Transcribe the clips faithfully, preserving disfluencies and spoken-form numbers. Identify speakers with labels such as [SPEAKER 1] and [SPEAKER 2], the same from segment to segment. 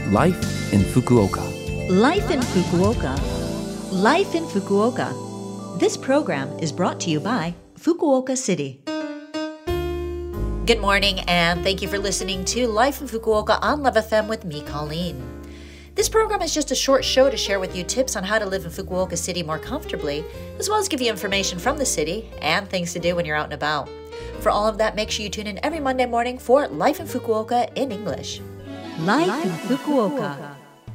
[SPEAKER 1] Life in Fukuoka.
[SPEAKER 2] Life in Fukuoka. Life in Fukuoka. This program is brought to you by Fukuoka City. Good morning, and thank you for listening to Life in Fukuoka on Love F M with me, Colleen. This program is just a short show to share with you tips on how to live in Fukuoka City more comfortably, as well as give you information from the city and things to do when you're out and about. For all of that, make sure you tune in every Monday morning for Life in Fukuoka in English. Life in Fukuoka.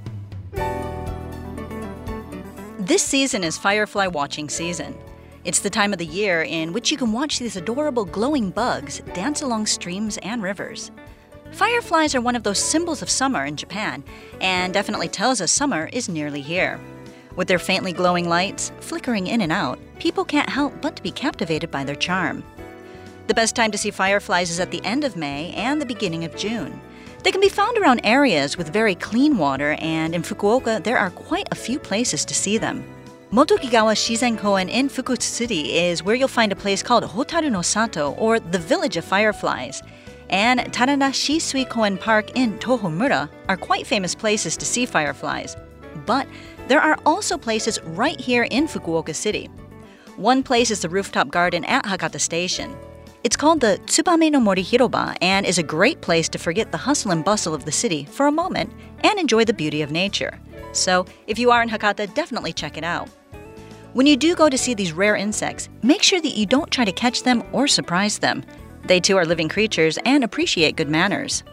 [SPEAKER 3] This season is firefly watching season. It's the time of the year in which you can watch these adorable glowing bugs dance along streams and rivers. Fireflies are one of those symbols of summer in Japan, and definitely tells us summer is nearly here. With their faintly glowing lights flickering in and out, people can't help but to be captivated by their charm. The best time to see fireflies is at the end of May and the beginning of June. They can be found around areas with very clean water, and in Fukuoka there are quite a few places to see them. Motokigawa Shizen Koen in Fukuoka City is where you'll find a place called Hotaru no Sato, or the Village of Fireflies. And Tarada Shisui Koen Park in Tohomura are quite famous places to see fireflies. But there are also places right here in Fukuoka City. One place is the rooftop garden at Hakata Station. It's called the Tsubame no Mori Hiroba and is a great place to forget the hustle and bustle of the city for a moment and enjoy the beauty of nature. So if you are in Hakata, definitely check it out. When you do go to see these rare insects, make sure that you don't try to catch them or surprise them. They too are living creatures and appreciate good manners.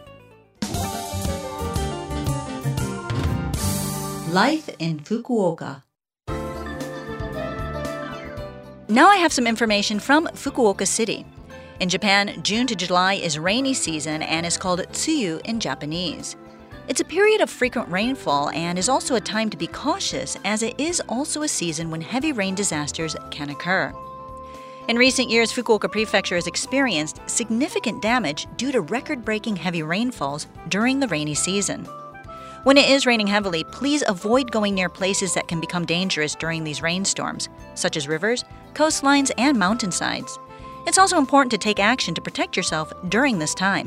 [SPEAKER 2] Life in Fukuoka.
[SPEAKER 3] Now I have some information from Fukuoka City. In Japan, June to July is rainy season and is called tsuyu in Japanese. It's a period of frequent rainfall and is also a time to be cautious, as it is also a season when heavy rain disasters can occur. In recent years, Fukuoka Prefecture has experienced significant damage due to record-breaking heavy rainfalls during the rainy season. When it is raining heavily, please avoid going near places that can become dangerous during these rainstorms, such as rivers, coastlines, and mountainsides. It's also important to take action to protect yourself during this time.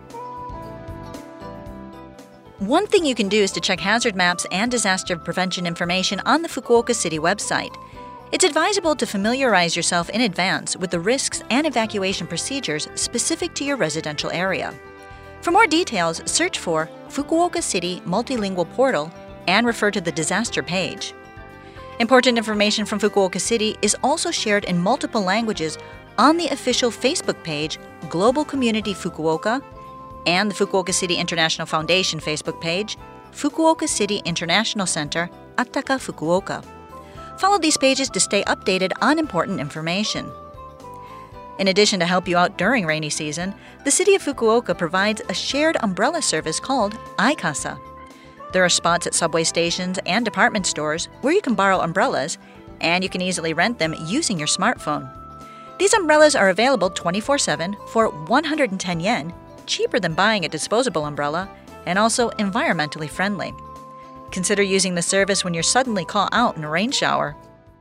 [SPEAKER 3] One thing you can do is to check hazard maps and disaster prevention information on the Fukuoka City website. It's advisable to familiarize yourself in advance with the risks and evacuation procedures specific to your residential area. For more details, search for Fukuoka City Multilingual Portal and refer to the disaster page. Important information from Fukuoka City is also shared in multiple languages on the official Facebook page Global Community Fukuoka and the Fukuoka City International Foundation Facebook page Fukuoka City International Center Attaka Fukuoka. Follow these pages to stay updated on important information. In addition to help you out during rainy season, the city of Fukuoka provides a shared umbrella service called iKasa. There are spots at subway stations and department stores where you can borrow umbrellas, and you can easily rent them using your smartphone. These umbrellas are available twenty-four seven for one hundred ten yen, cheaper than buying a disposable umbrella, and also environmentally friendly. Consider using the service when you're suddenly caught out in a rain shower.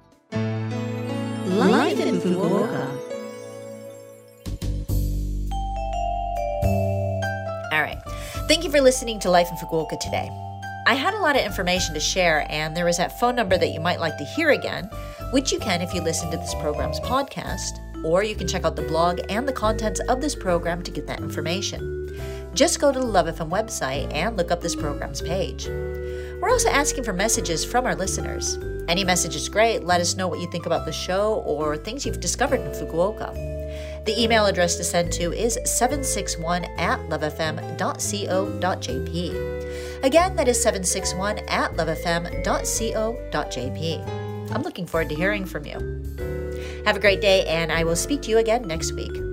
[SPEAKER 2] Life in Fukuoka. All right. Thank you for listening to Life in Fukuoka today. I had a lot of information to share, and there is that phone number that you might like to hear again, which you can if you listen to this program's podcast, or you can check out the blog and the contents of this program to get that information. Just go to the Love F M website and look up this program's page. We're also asking for messages from our listeners. Any message is great. Let us know what you think about the show or things you've discovered in Fukuoka. The email address to send to is seven six one at lovefm dot co dot jp. Again, that is seven six one at lovefm dot co dot jp. I'm looking forward to hearing from you. Have a great day, and I will speak to you again next week.